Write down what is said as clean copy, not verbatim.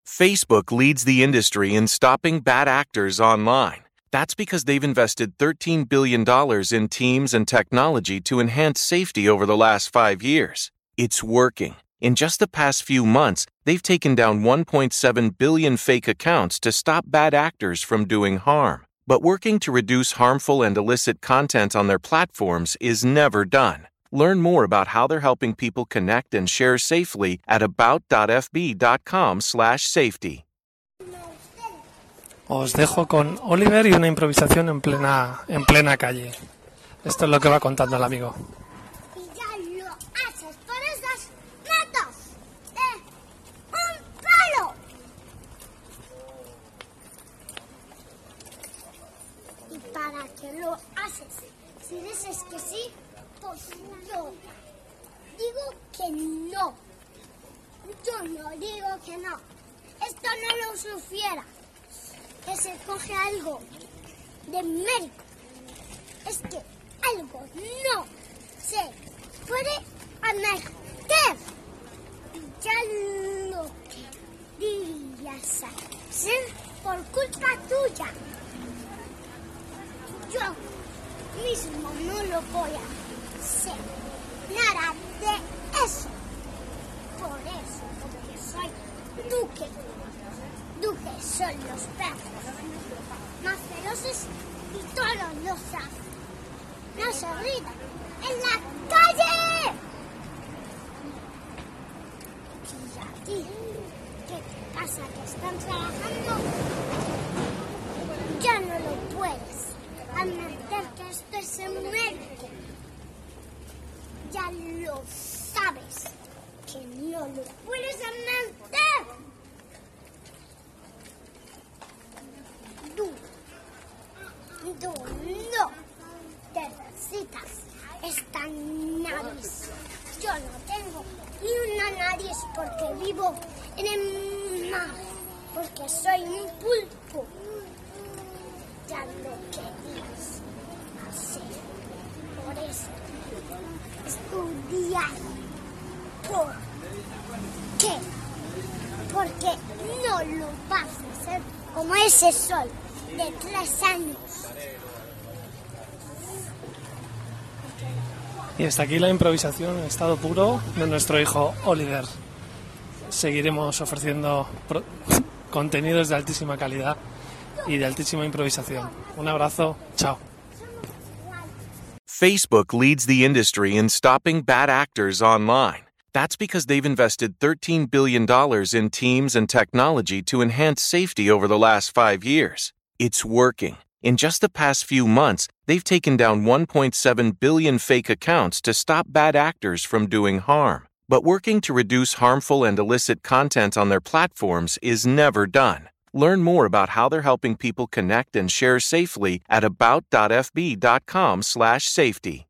Facebook leads the industry in stopping bad actors online. That's because they've invested $13 billion in teams and technology to enhance safety over the last 5 years. It's working. In just the past few months, they've taken down 1.7 billion fake accounts to stop bad actors from doing harm. But working to reduce harmful and illicit content on their platforms is never done. Learn more about how they're helping people connect and share safely at about.fb.com/safety. Os dejo con Oliver y una improvisación en plena calle. Esto es lo que va contando el amigo. Y ya lo haces por esas metas de un palo. ¿Y para qué lo haces? Si dices que sí, pues yo digo que no. Yo no digo que no. Esto no lo supiera. Que se coge algo de mérito. Es que algo no se puede meter. Ya lo querías hacer por culpa tuya. Yo mismo no lo voy a hacer. Nada de eso. Por eso, porque soy duque. Duques son los perros más feroces y todos los saben. No se gritan en la calle. Y aquí, ¿qué pasa? ¿Que están trabajando? Ya no lo puedes admitir que esto es en México. Ya lo sabes que no lo puedes admitir. Tú no necesitas esta nariz. Yo no tengo ni una nariz porque vivo en el mar, porque soy un pulpo. Ya lo querías hacer. Por eso, estudiar. ¿Por qué? Porque no lo vas a hacer como ese sol de 3 años. Y hasta aquí la improvisación en estado puro de nuestro hijo Oliver. Seguiremos ofreciendo contenidos de altísima calidad y de altísima improvisación. Un abrazo, chao. Facebook leads the industry in stopping bad actors online. That's because they've invested $13 billion in teams and technology to enhance safety over the last 5 years. It's working. In just the past few months, they've taken down 1.7 billion fake accounts to stop bad actors from doing harm. But working to reduce harmful and illicit content on their platforms is never done. Learn more about how they're helping people connect and share safely at about.fb.com/safety.